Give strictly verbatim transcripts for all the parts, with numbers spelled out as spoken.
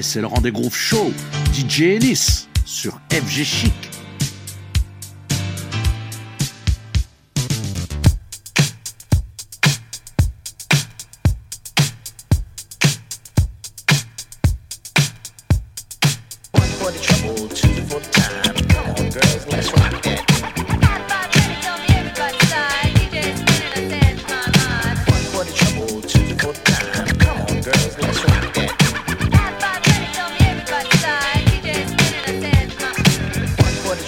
Ouais, c'est le rendez-vous show D J Ennis sur F G Chic. For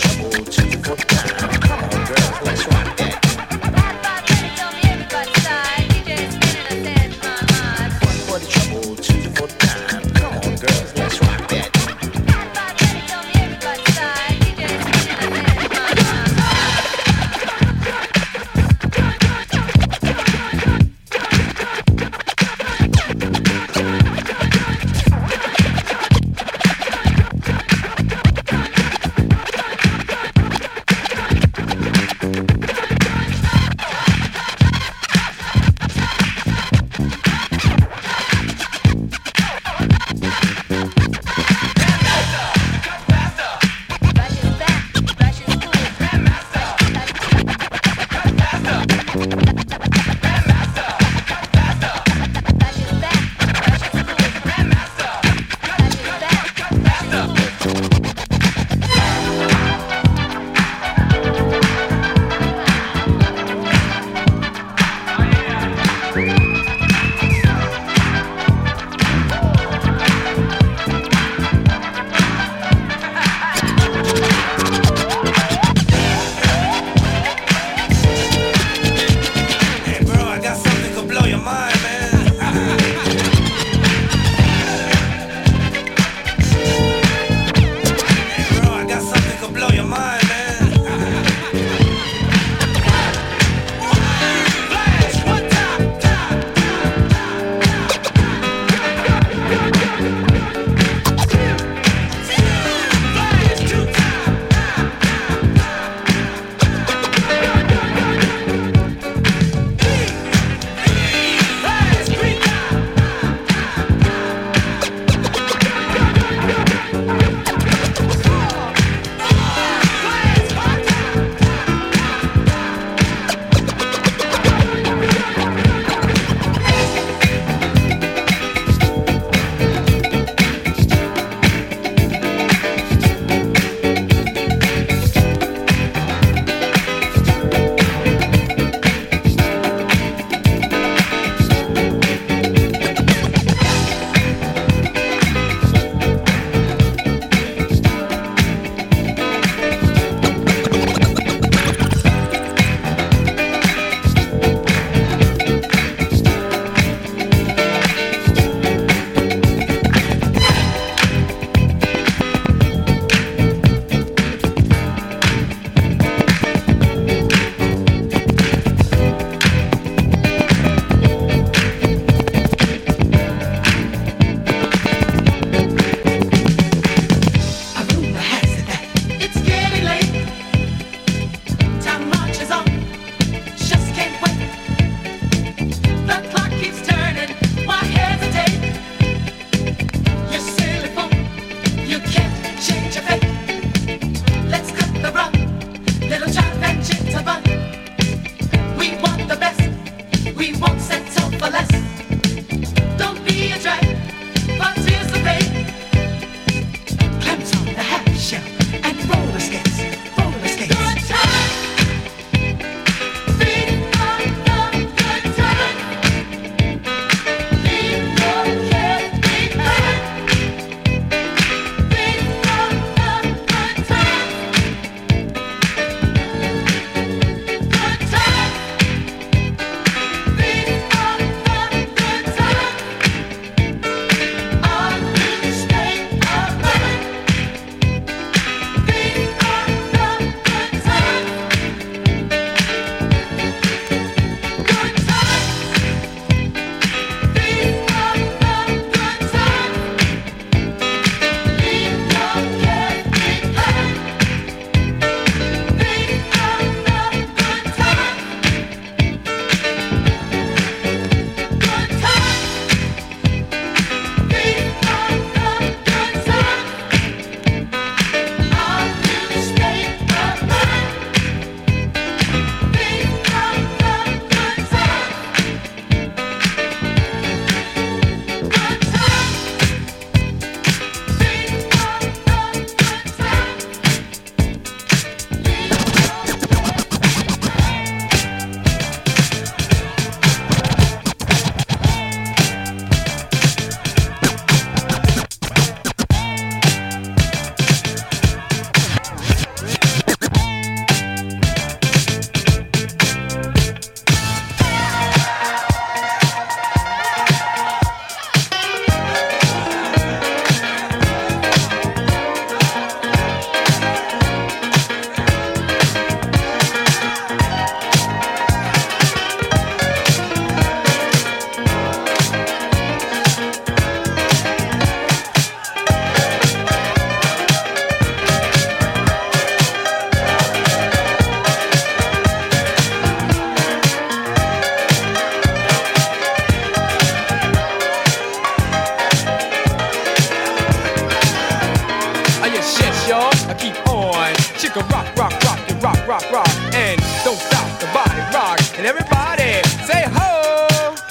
rock, rock, and don't stop the body rock. And everybody say ho,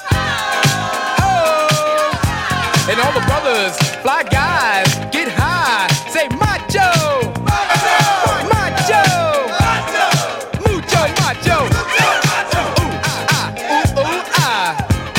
ho. And all the brothers, fly guys, get high, say macho, macho, macho, mucho macho. Ooh, ah, ooh, ooh, ah.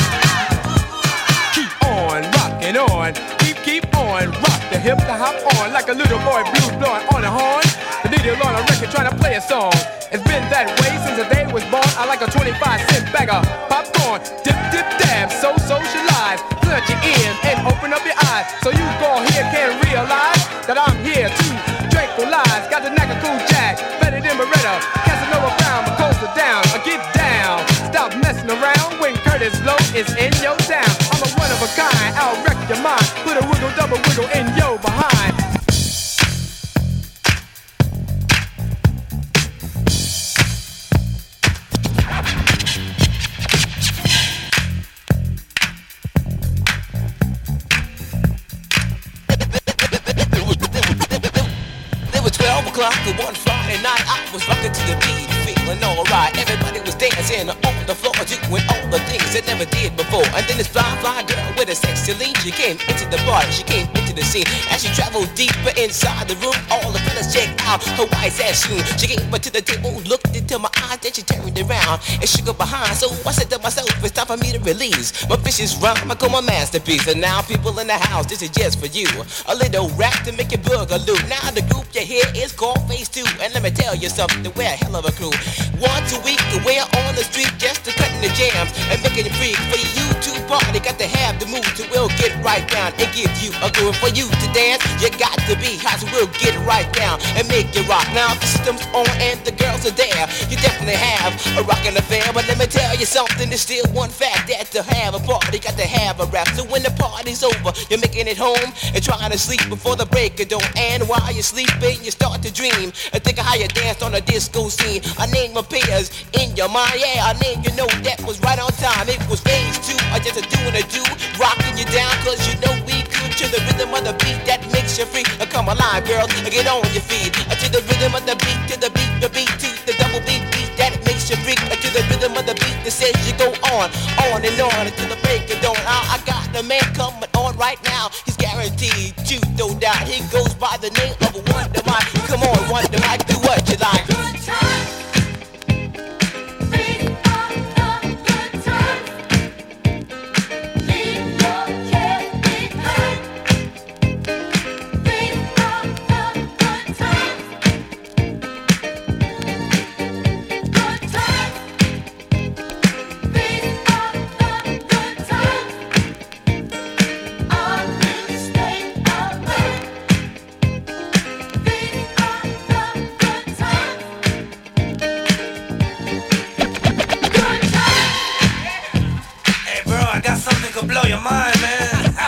Keep on rocking on, keep, keep on, rock the hip, the hop on, like a little boy blues blowing on a horn. The needle on a record trying to play a song. It's been that way since the day was born. I like a twenty-five cent bag of popcorn. Dip, dip, dab, so socialize. Plunge your ears and open up your eyes, so you go here can realize that I'm here to tranquilize. Got the knack of cool jack, better than Beretta. Casanova Brown, my coaster down, I get down. Stop messing around when Curtis Low is in your town. I'm a one of a kind, I'll wreck your mind. Put a wiggle, double wiggle in your behind. twelve o'clock one Friday night, I was rocking to the beat, feeling alright. Everybody was dancing on the floor, doing all the things they never did before. And then this fly, fly girl with a sexy lean, she came into the party, she came into the scene. As she traveled deeper inside the room, all the fellas checked out her white ass shoe. She came up to the table, looked into my eyes, then she turned around and shook her behind. So I said to myself, it's time for me to release my vicious rhyme, I call my masterpiece. And now people in the house, this is just for you, a little rap to make you boogaloo. Now the group you hear is called Phase Two, and let me tell you something, we're a hell of a crew. Once a week, we're on the street just to cutting the jams and making it free for you to party. Got to have the mood, so we'll get right down and give you a groove. For you to dance, you got to be hot, so we'll get right down and make it rock. Now the system's on and the girls are there, you definitely have a rockin' affair. But let me tell you something, there's still one fact, that to have a party, got to have a rap. So when the party's over, you're making it home and trying to sleep before the break of dawn. And while you're sleeping, you start to dream and think of how you danced on a disco scene. A name appears in your mind, yeah, a name you know that was right on time. It was Phase Two, or just a doing a do, rocking you down, cause you know we could. To the rhythm of the beat that makes you free. Uh, come alive, girl, get on your feet. Uh, to the rhythm of the beat, to the beat, the beat, to the double beat beat that makes you freak. Uh, to the rhythm of the beat that says you go on, on and on until the break of dawn. I, I got the man coming on right now, he's guaranteed to no doubt. He goes by the name of Wonder Mike. Come on, Wonder Mike, do what you like. Good time. Blow your mind, man.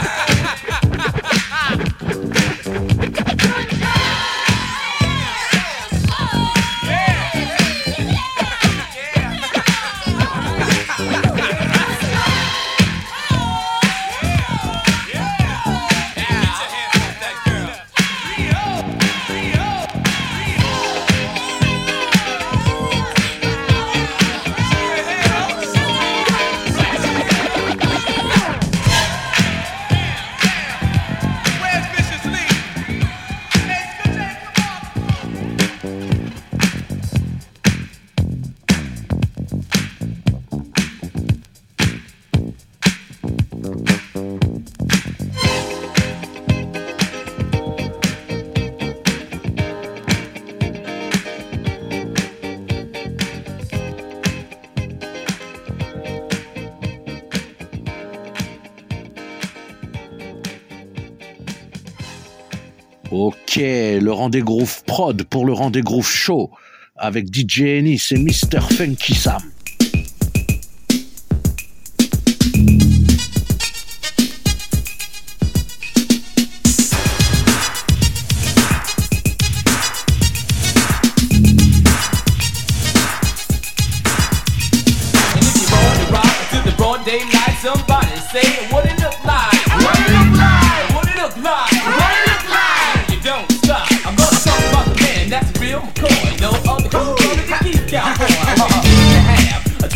Ok, le rendez-vous prod pour le rendez-vous show avec D J Ennis et mister Funky Sam. Somebody say what it look like, what it look like, what it look like, what it look like. You don't stop. I'm gonna talk about the man that's real McCoy. No other cool brother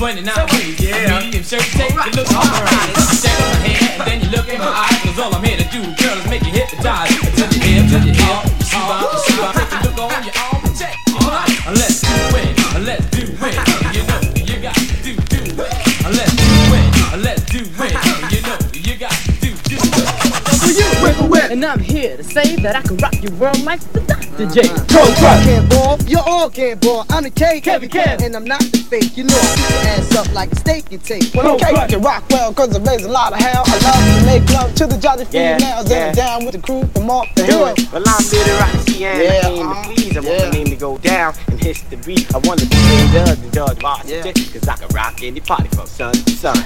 twenty-nine ways. Yeah. Medium shirt tape, it looks alright. Check on my head, and then you look in my eyes. Cause all I'm here to do, girl, is make you hypnotize. Touch your hip, touch your hip. Shoot out, shoot out. Take a look on your arm and check. Alright, let's do it, let's do it. You know, you got to do, do it. Let's do it, let's do it. You know, you got to do, do it. And I'm here to say that I can rock your world like the Doctor J. Pro I can't ball, you all can't ball. I'm the K, Kevin Kev, and I'm not the fake. You know I keep your ass up like a steak you take. Well, okay, I can rock well, cause I raise a lot of hell. I love to make love to the jolly females. Yeah, yeah. And down with the crew from off the hill. Well, I'm Little Roxy and yeah, I came uh, to please. I want yeah. my name to go down and hit the beat. I want to be the judge and judge Washington, yeah. Cause I can rock any party from sun to sun.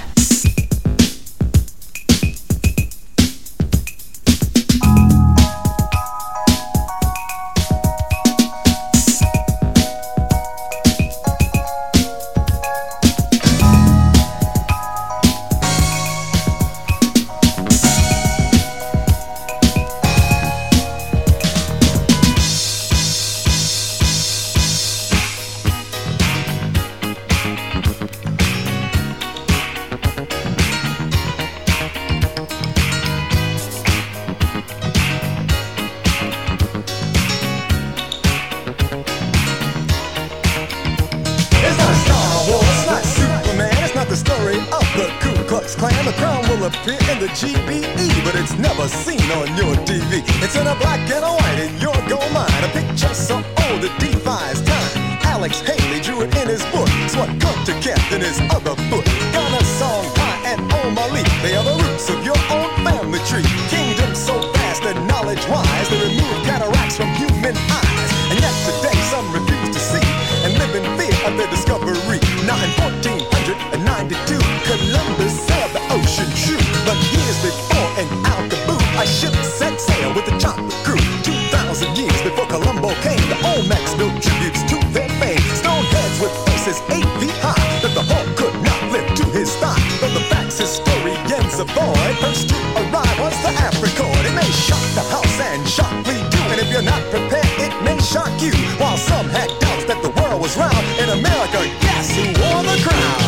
G B E, but it's never seen on your T V. It's in a black and a white in your gold mine. A picture so old it defies time. Alex Haley drew it in his book. It's what Gunter kept in his other book. Gunner Song High and O'Malley, they are the roots of your own family tree. Kingdom so vast and knowledge-wise, they remove cataracts from human eyes. And yet today some refuse to see and live in fear of their discovery. Now in fourteen ninety-two, Columbus sailed the ocean true. But years before in Alcaboo, a ship set sail with the chocolate crew. Two thousand years before Columbo came, the Olmecs built tributes to their fame. Stone heads with faces eight feet high, that the Hulk could not lift to his thigh. But the facts historians avoid. First to arrive was the Africord. It may shock the house and shock we do. And if you're not prepared, it may shock you. While some had doubts that the world was round, in America, guess who wore the crown?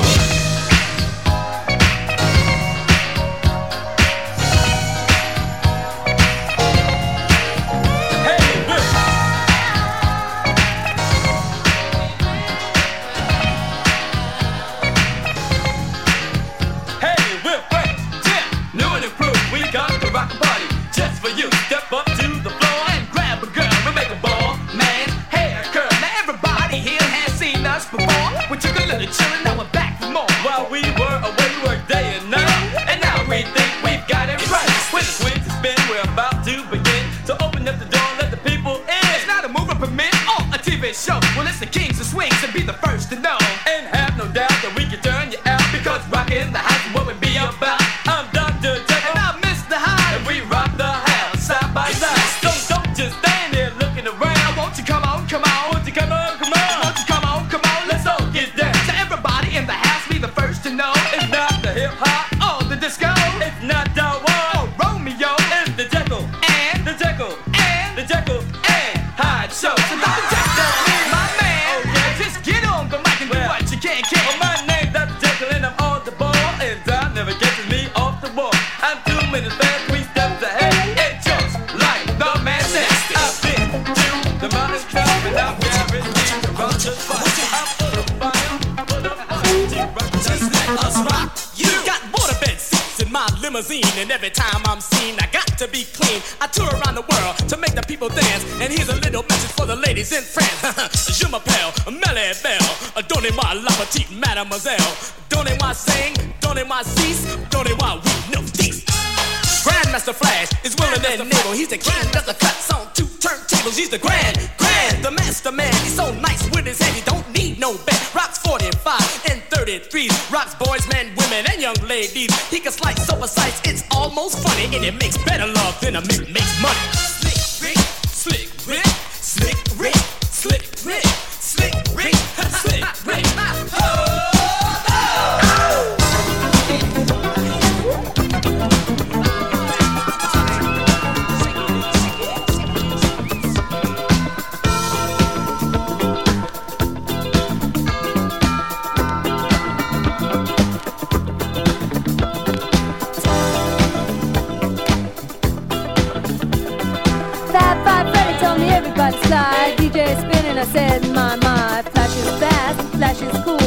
And every time I'm seen, I got to be clean. I tour around the world to make the people dance. And here's a little message for the ladies in France. Je m'appelle Melly Belle. Donnez-moi la petite mademoiselle. Donnez-moi sing, donnez-moi cease, donnez-moi oui, no cease. Grandmaster Flash is willing and able. He's the king of the cuts on two turntables. He's the grand, grand, the master man. He's so nice with his head, he don't need no bed. Rocks forty-five and thirty-threes. Rocks boys, men, women, and young ladies. He can slice so precise, it's almost funny. And it makes better love than a Mick makes money. Slick Rick, Slick Rick, Slick Rick, Slick Rick, Slick Rick, Slick Rick. Oh!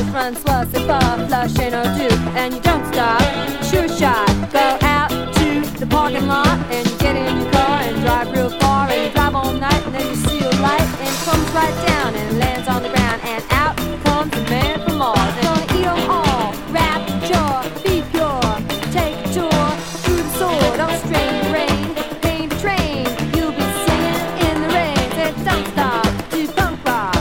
run, sluss, and puff, flush, and or do, and you don't stop. Sure shot, go out to the parking lot, and you get in your car and drive real far, and you drive all night, and then you see a light, and it comes right down and lands on the ground, and out comes the man from Mars. And gonna eat 'em all, rap, jaw, be pure, take a tour through the sword, don't strain the rain, paint a train, you'll be singing in the rain, say don't stop, do punk rock.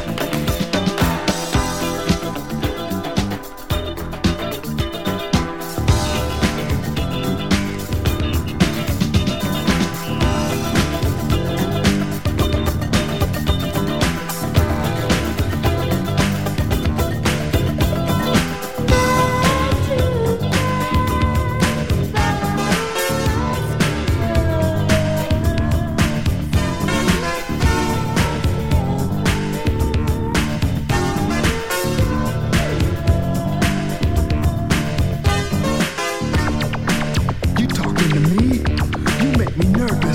You talking to me? You make me nervous.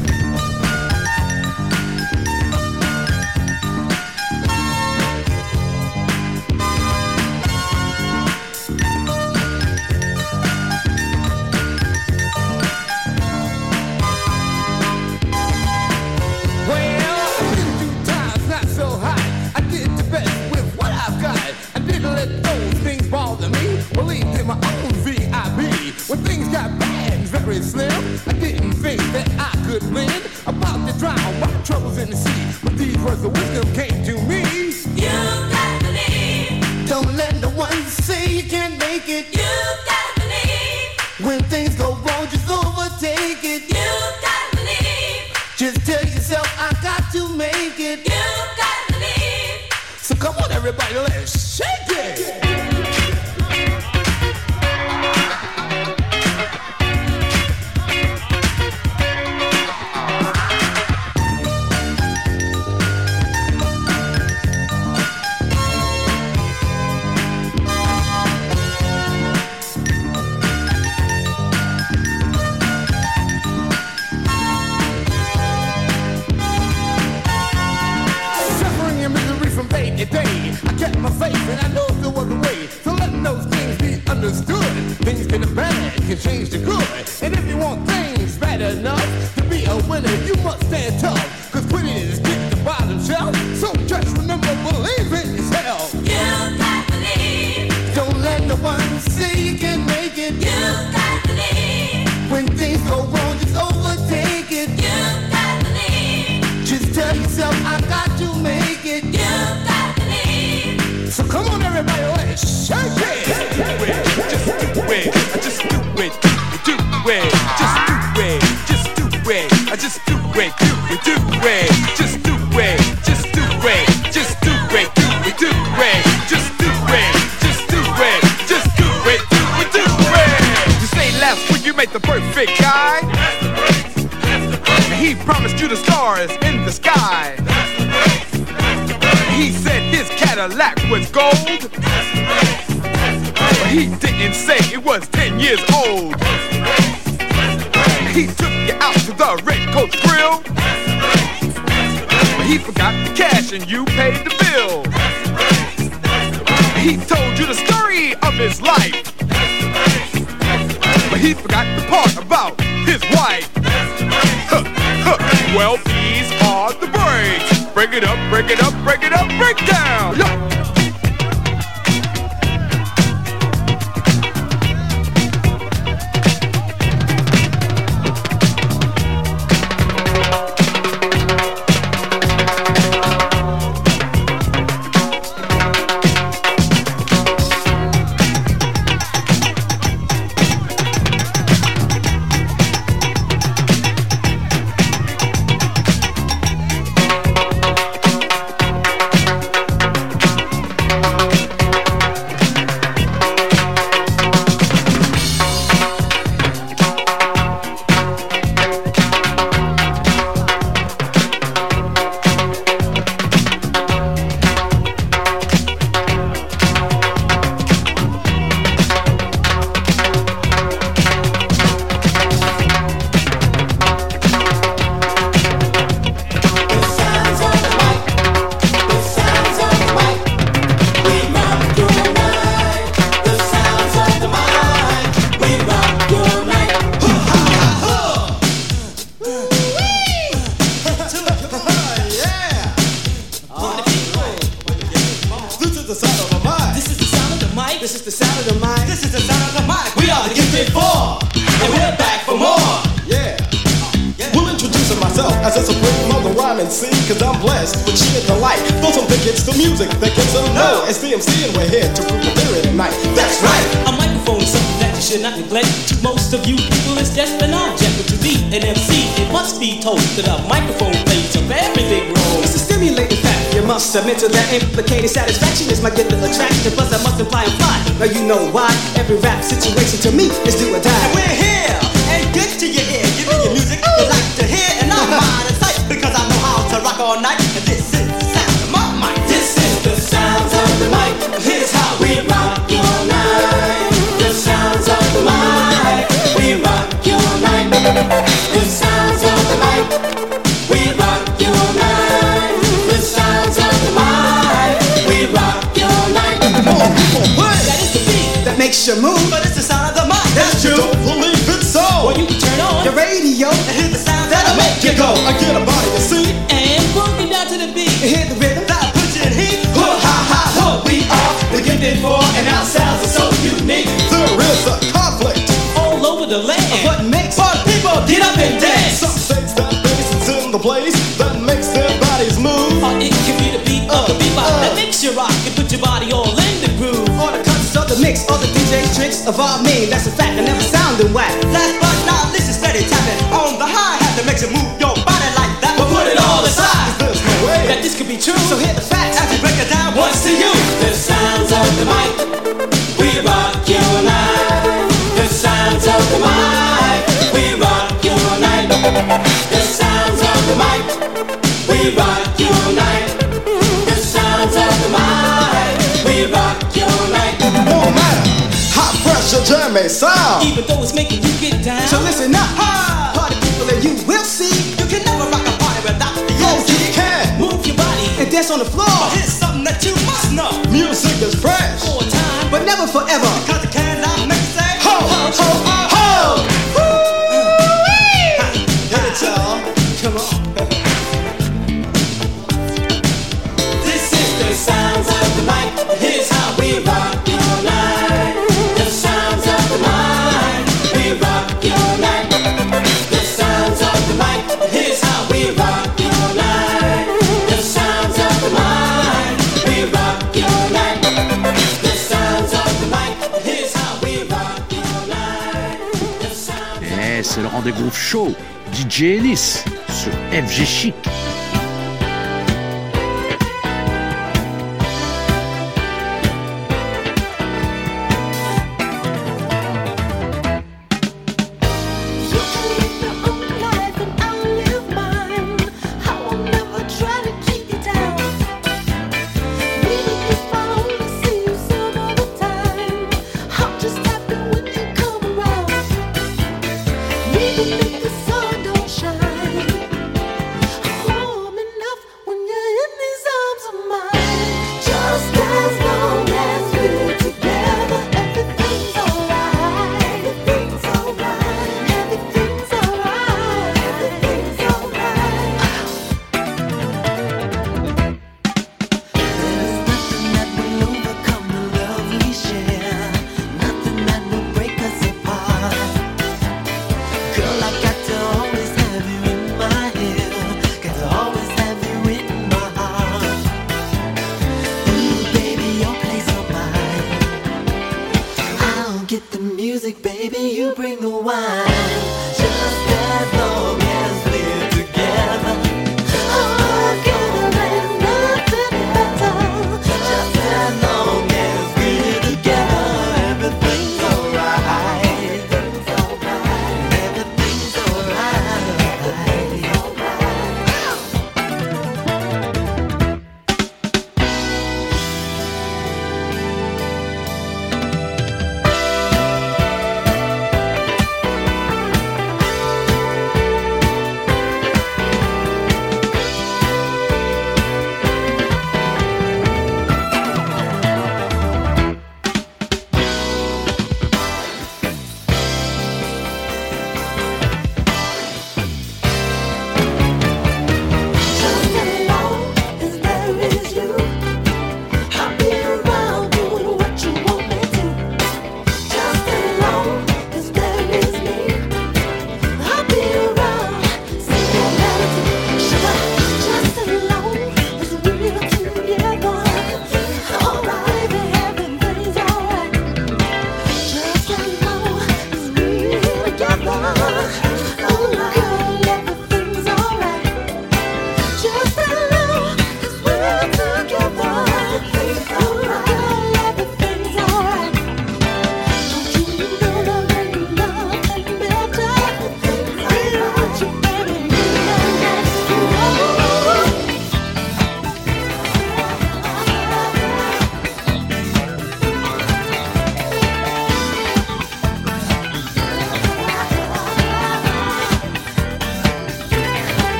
Well, I've been through times not so high. I did the best with what I've got. I didn't let those things bother me. Believed in my own V I P. When things got bad and very slim, I didn't think that I could win. About to drown my troubles in the sea, but these words of wisdom came to me. You gotta believe. Don't let no one say you can't make it. You gotta believe. When things go wrong, just overtake it. You gotta believe. Just tell yourself I got to make it. You gotta believe. So come on, everybody, let's shake it. Suffering and misery from day to day. I kept my faith and I know there was a way. So letting those things be understood. Things get bad can change to good. And if you want things bad enough to be a winner, you must stand tough. Cause quitting is get the bottom shelf. So just remember, believe in yourself. You gotta believe. Don't let no one say you can make it. You gotta believe. When things go wrong, just overtake it. You gotta believe. Just tell yourself I got to make it. You gotta believe. So come on, everybody, let's shake it. Just do it, just do it, just do it, do it, just do it, just do it, I just do it, do it, do it, just do it, just do it, just do it, do it, do it, just do it, just do it, just do it, do it, do it. You say last week you made the perfect guy. And he promised you the stars in the sky. He said his Cadillac was gold. But he didn't say it was ten years old. He took you out to the Red Coach Grill. But he forgot the cash and you paid the bill. He told you the story of his life. But he forgot the part about his wife. Huh, huh. Well, these are the breaks. Break it up, break it up, break it up, break down. Yo. mic. This is the sound of the mic. This is the sound of the mic. We are the Gifted Four, and we're back for more. Yeah. We'll introduce myself as a supreme mother rhyme and sing, cause I'm blessed with sheer delight. Throw some big hits to music that gets them know. It's D M C and we're here to prove the theory tonight. That's right. A microphone is something that you should not neglect. To most of you people, it's just an object. But to be an M C, it must be told that a microphone plays a very big role. It's a stimulating fact. You must submit to that implicated satisfaction is my gift of attraction. Plus, I must imply and fly. Now you know why. Every rap situation to me is do or die. And we're here and good to your ear. Give me your music you like to hear, and I'm mind and sight because I know how to rock all night. And this is the sound of my mic. This is the sounds of the mic. Here's how we rock your night. The sounds of the mic. We rock your night. The sounds of the mic. We rock your night. The sounds of the mic. We rock your night. More people, what? That is the beat that makes you move, but it's the sound of the mic. That's true. Don't believe it so. Well, you can turn on your radio and hear the sound that'll make you go. I get a body to see and boogie down to the beat and hear the rhythm that'll put you in heat. Ho ha ha ho, we are the Gifted Four, and our sounds are so unique. There is a conflict all over the land of what makes our people get up and dance. Some states that bass is in the place that makes their bodies move. Or it could be the beat of the bebop uh, that makes you rock and put your body all in the groove. Or the cuts of the mix, or the D J tricks of all mean. That's a fact, I never sounded whack. Last but not least, it's steady tapping on the hi-hat that makes you move your body like that. But put it all aside, there's no way that this could be true. So hit the facts as we break it down once to you. The sounds of the mic, we rock your night. The sounds of the mic, we rock your night. The sounds of the mic, we rock your night. The sounds of the mic, we rock your night. No matter how fresh your jam may sound, even though it's making you get down. So listen up, ha! Party people, and you will see you can never rock a party without the oh, you can move your body and dance on the floor. But here's something that you must know: music is fresh for a time, but never forever. Because it cannot make you say ho ho ho ho. ho. Hit it, y'all. Come on. This is the sounds of the mic. Here's how we rock your night. The sounds of the mic. We rock your night. The sounds of the mic. Here's how we rock your night. The sounds of the mic. We rock your night. The sounds of the mic. Here's how we rock your night. The sounds. Eh, c'est le rendez-vous show. D J Ellis sur F G Chic.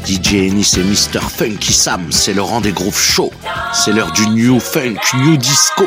D J Ennis et mister Funky Sam, c'est le rendez-vous show. C'est l'heure du new funk, new disco.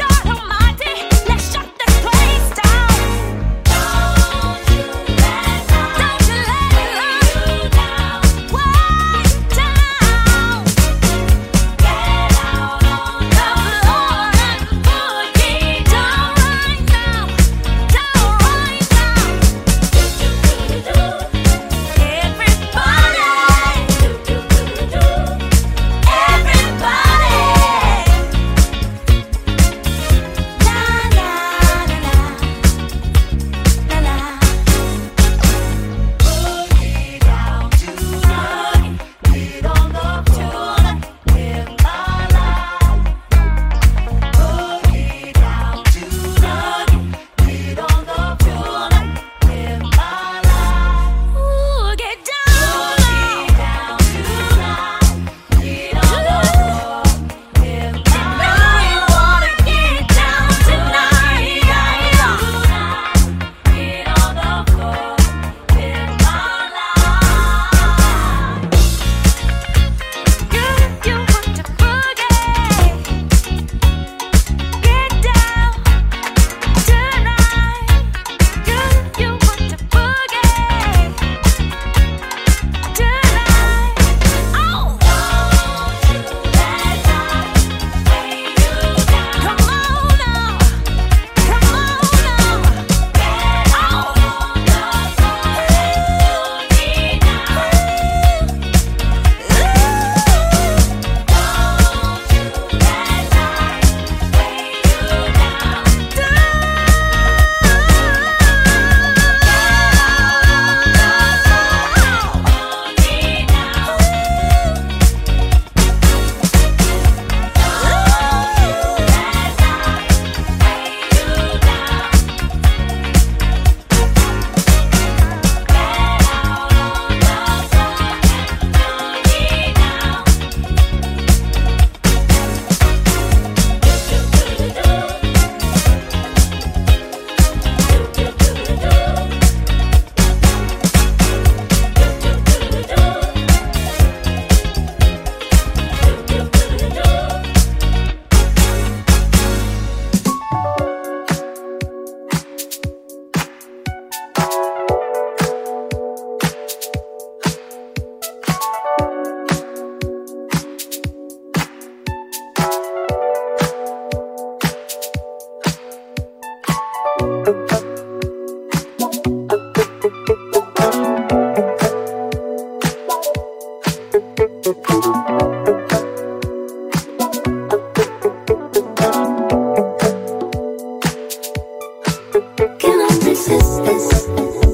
Let's shut this place down. Don't you let Cannot resist this.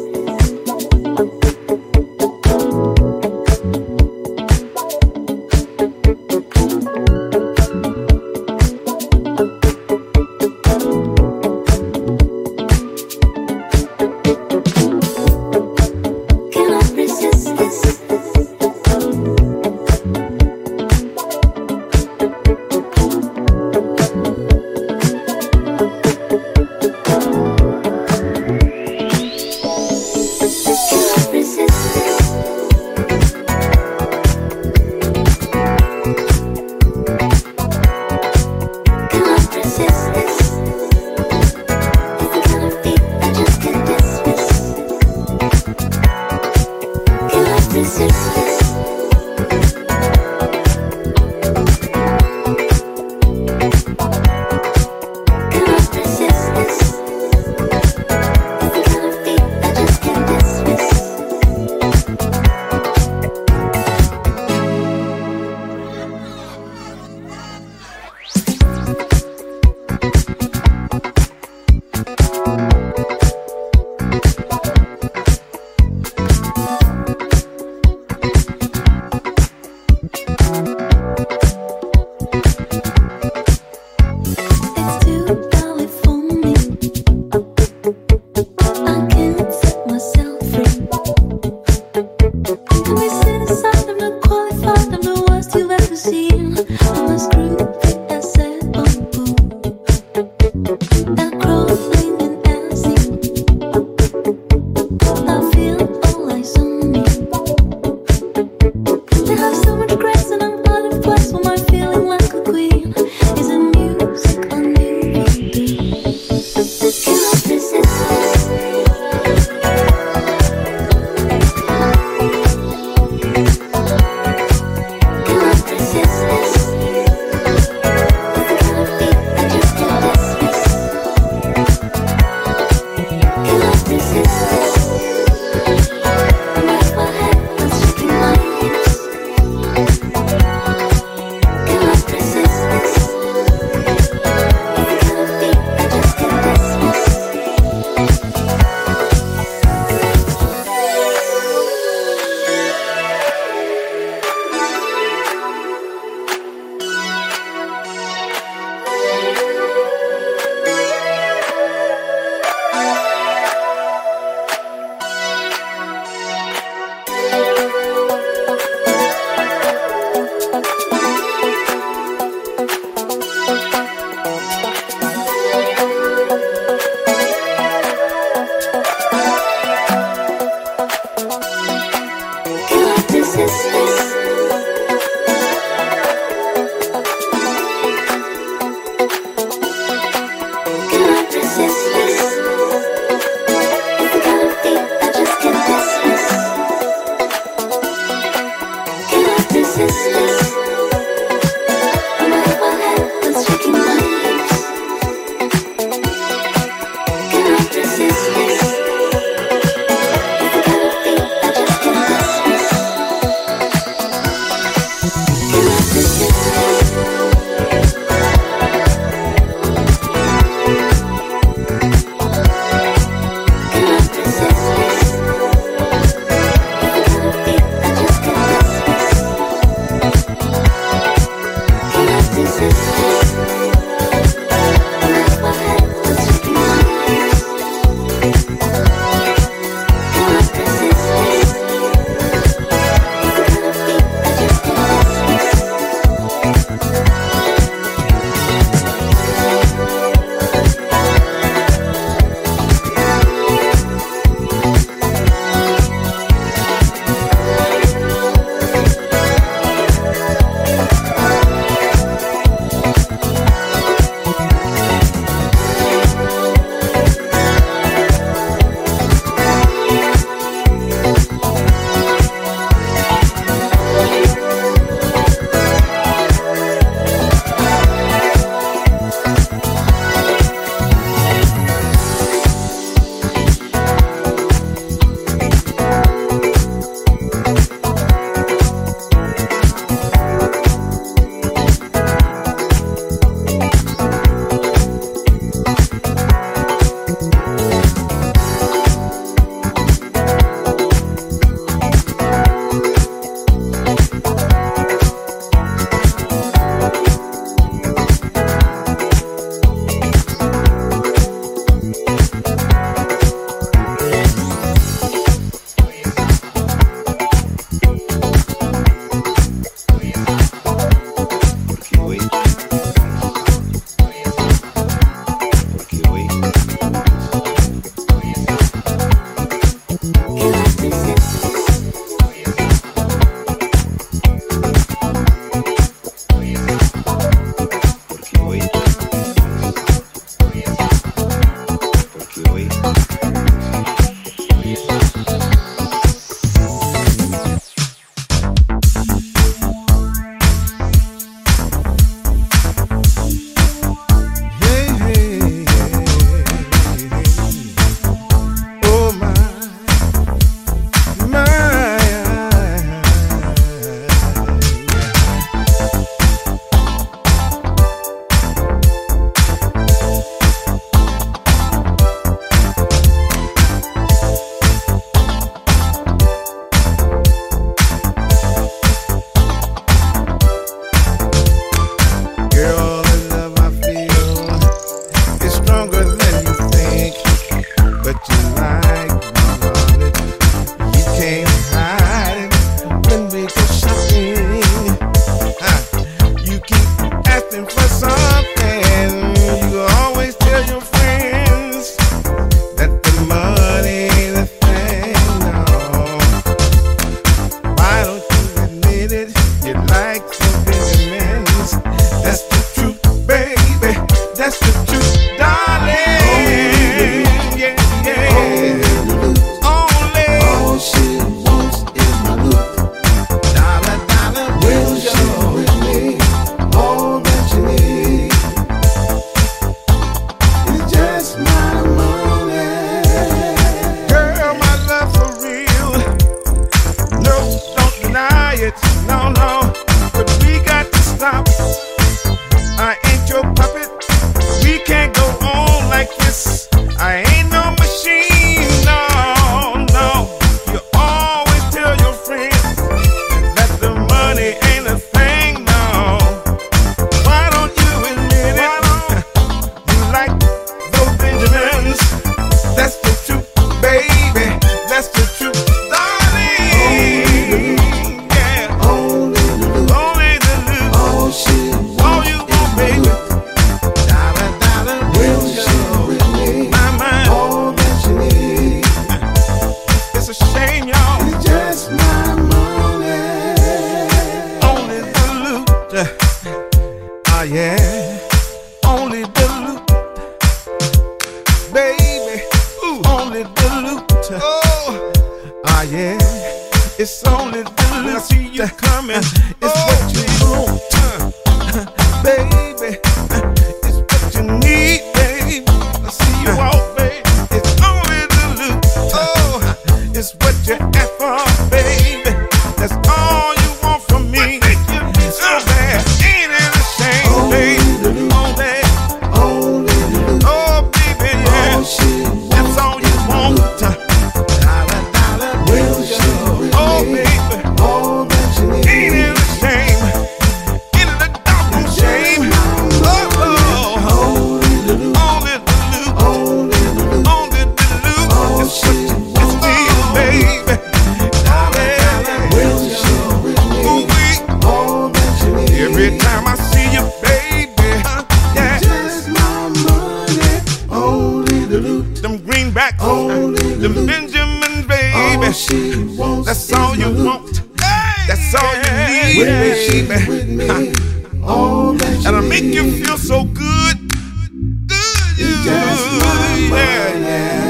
Cannot resist this. like we want it. You can't hide it when we go shopping. Huh. You keep asking for something. You always tell your friends that the money ain't a thing. No. Why don't you admit it? You like some Benjamins. That's the truth, baby. That's the truth, darling. Yeah, yeah. Only. All she wants is my look. Dollar, dollar, will show with me all that you need. It's just my money. Girl, my love for real. No, don't deny it. No, no. But we got to stop. I ain't your puppet. We can't go on like this. I ain't no machine. No, no. You always tell your friends that the money ain't a thing. No. Why don't you admit it? You like those Benjamins. That's the truth, baby. That's the truth, darling. Yeah. Only the loot. All she all you want, baby. Dollar, dollar, will show with me. My mind, all that you need. It's a shame, y'all. It's just my money. Only the loot. Ah, yeah. Only the loot. Baby. Ooh. Only the loot. Oh. Ah, yeah. It's only the loot. I see you coming. It's what you want. Uh, baby. It's what you need, baby. I see you walk, baby. It's only the loot. Oh, it's what you ask for, baby. That's all you want from me. So bad, ain't it a shame, baby? All that, oh, baby, yeah. That's all you want. Dollar, dollar, will show. Oh, baby, all that you need. Ain't it a shame? Ain't it a doggone shame? Oh, oh, only the loot. Only the loot. Only the loot. It's what you it's me, baby. Dollar, dollar, will show. Ooh, we. All that you need. Every time I see you, baby. Yeah. Just my money. Only the loot. Them greenbacks. Only the loot. Them Benjamins, baby. All she wants. That's all you want. That's all you need, baby. Huh. And I make you feel so good. Good. Yeah, yeah.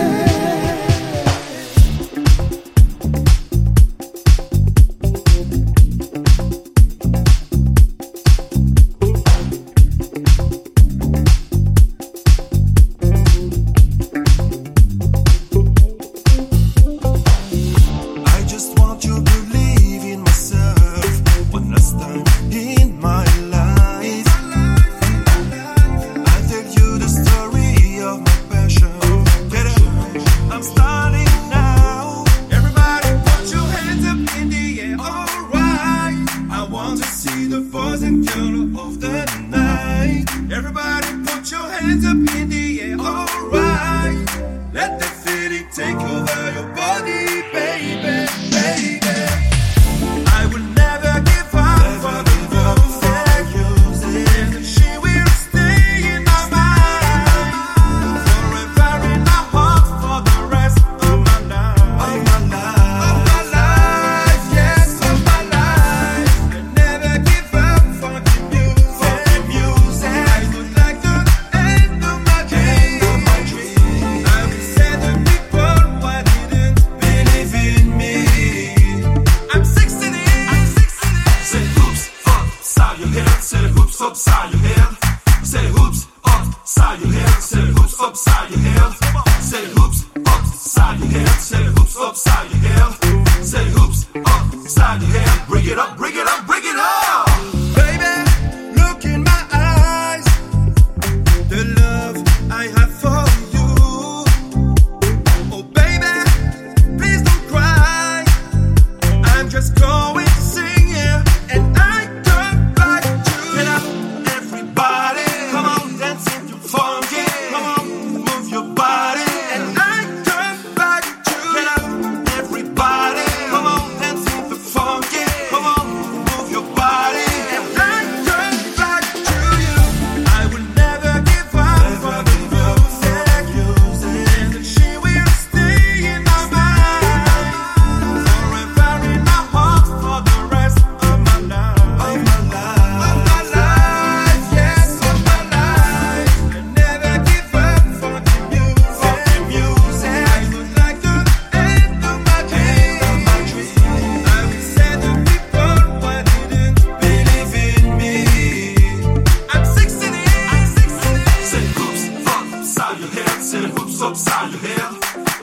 I just want you to believe in myself one last time in my life. I tell you the story of my passion. Get up, I'm starting now. Everybody put your hands up in the air, alright. I want to see the boys and girls of the night. Everybody put your hands up in the air, alright. Let the feeling take over your body, baby, baby. I will never give up for the music. And she will stay in my mind forever in my heart for the rest of my life. Of my life, of my life, yes, of my life. I never give up for the music. I would like to end of my dream. I will say the people who didn't believe in me. I'm sixteen. I'm sixteen. Say hoops upside your head. Say hoops upside your head. Say hoops upside your head. Say hoops upside your head. Say hoops upside your head. Say hoops upside your head. Say hoops upside your head. Bring it up, bring it up, bring it up. Baby, look in my eyes. The love I have for you. Oh, baby, please don't cry. I'm just going to sing, yeah, and I don't like to. Get up, everybody. Come on, dance if you're funky. Come on, move your body. And I don't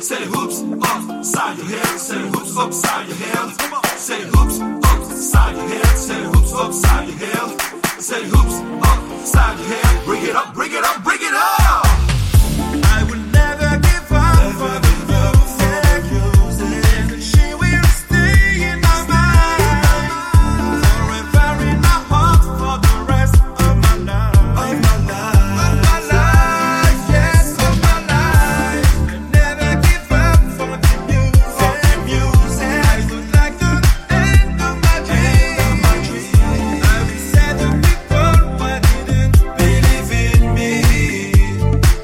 Say hoops upside your head. Say hoops upside your head. Say hoops upside your head. Say hoops upside your head. Say hoops upside your head. Bring it up, bring it up, bring it up. I will never give up for the music. And she will stay in my mind forever in my heart for the rest of my life. Of my life, of my life, yes, of my life. I never give up for the music. For the music, I would like to end of my dream. I will say the people who didn't believe in me.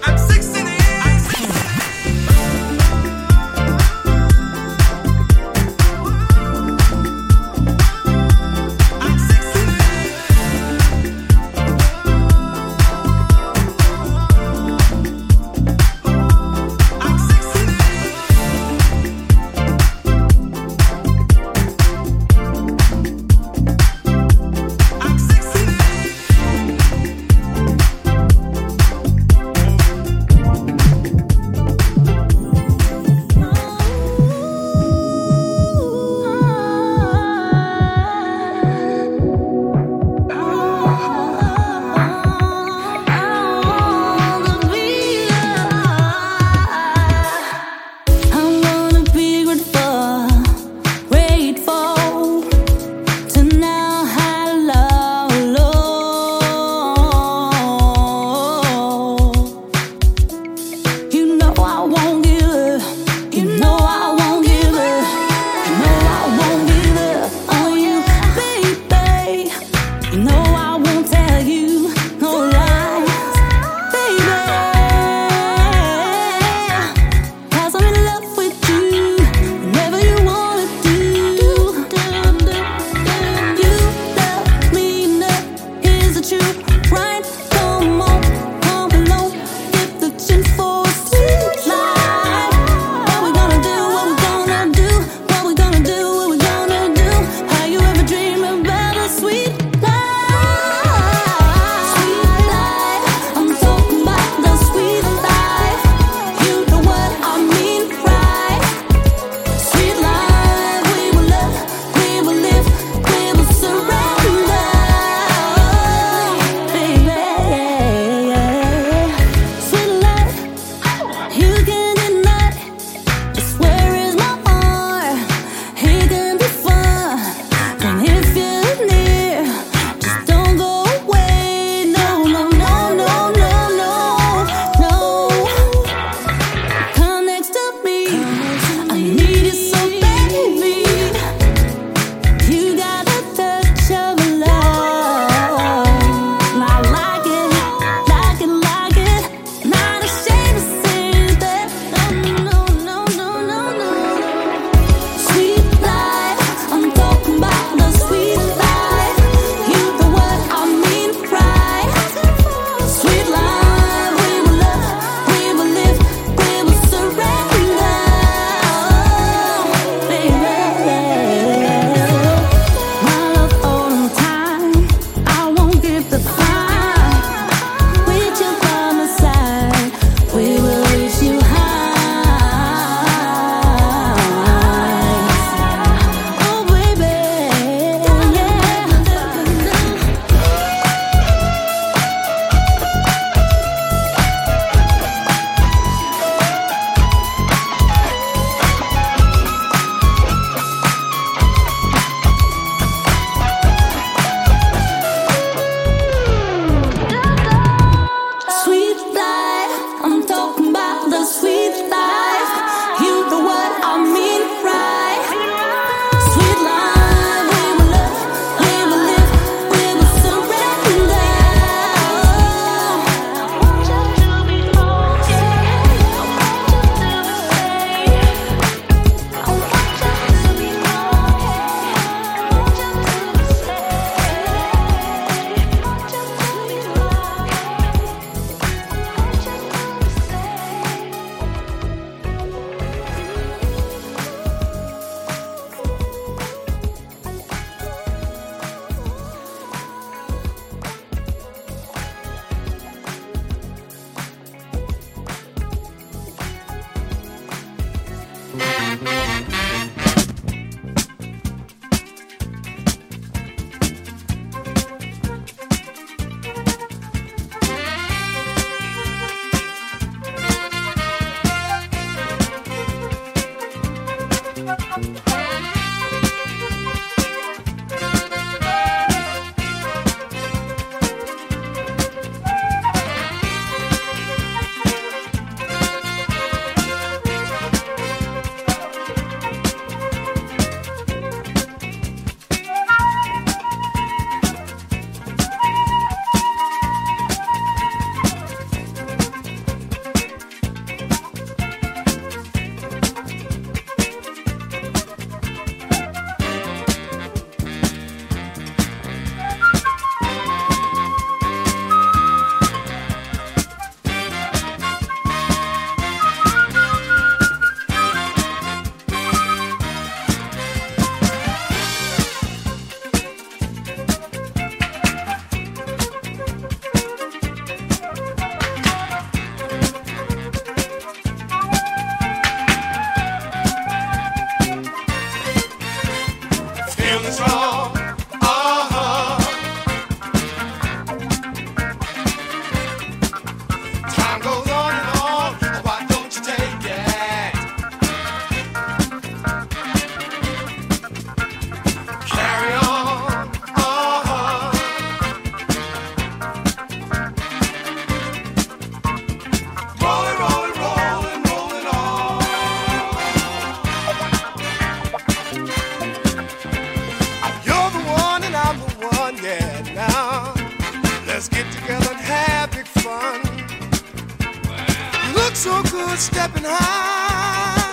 So good stepping high.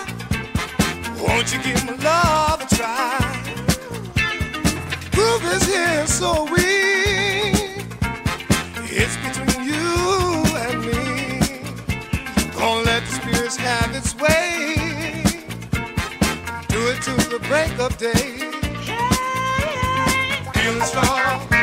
Won't you give my love a try? Groove is here so weak. It's between you and me. Gonna let the spirits have its way. Do it till the break of day. Feeling strong.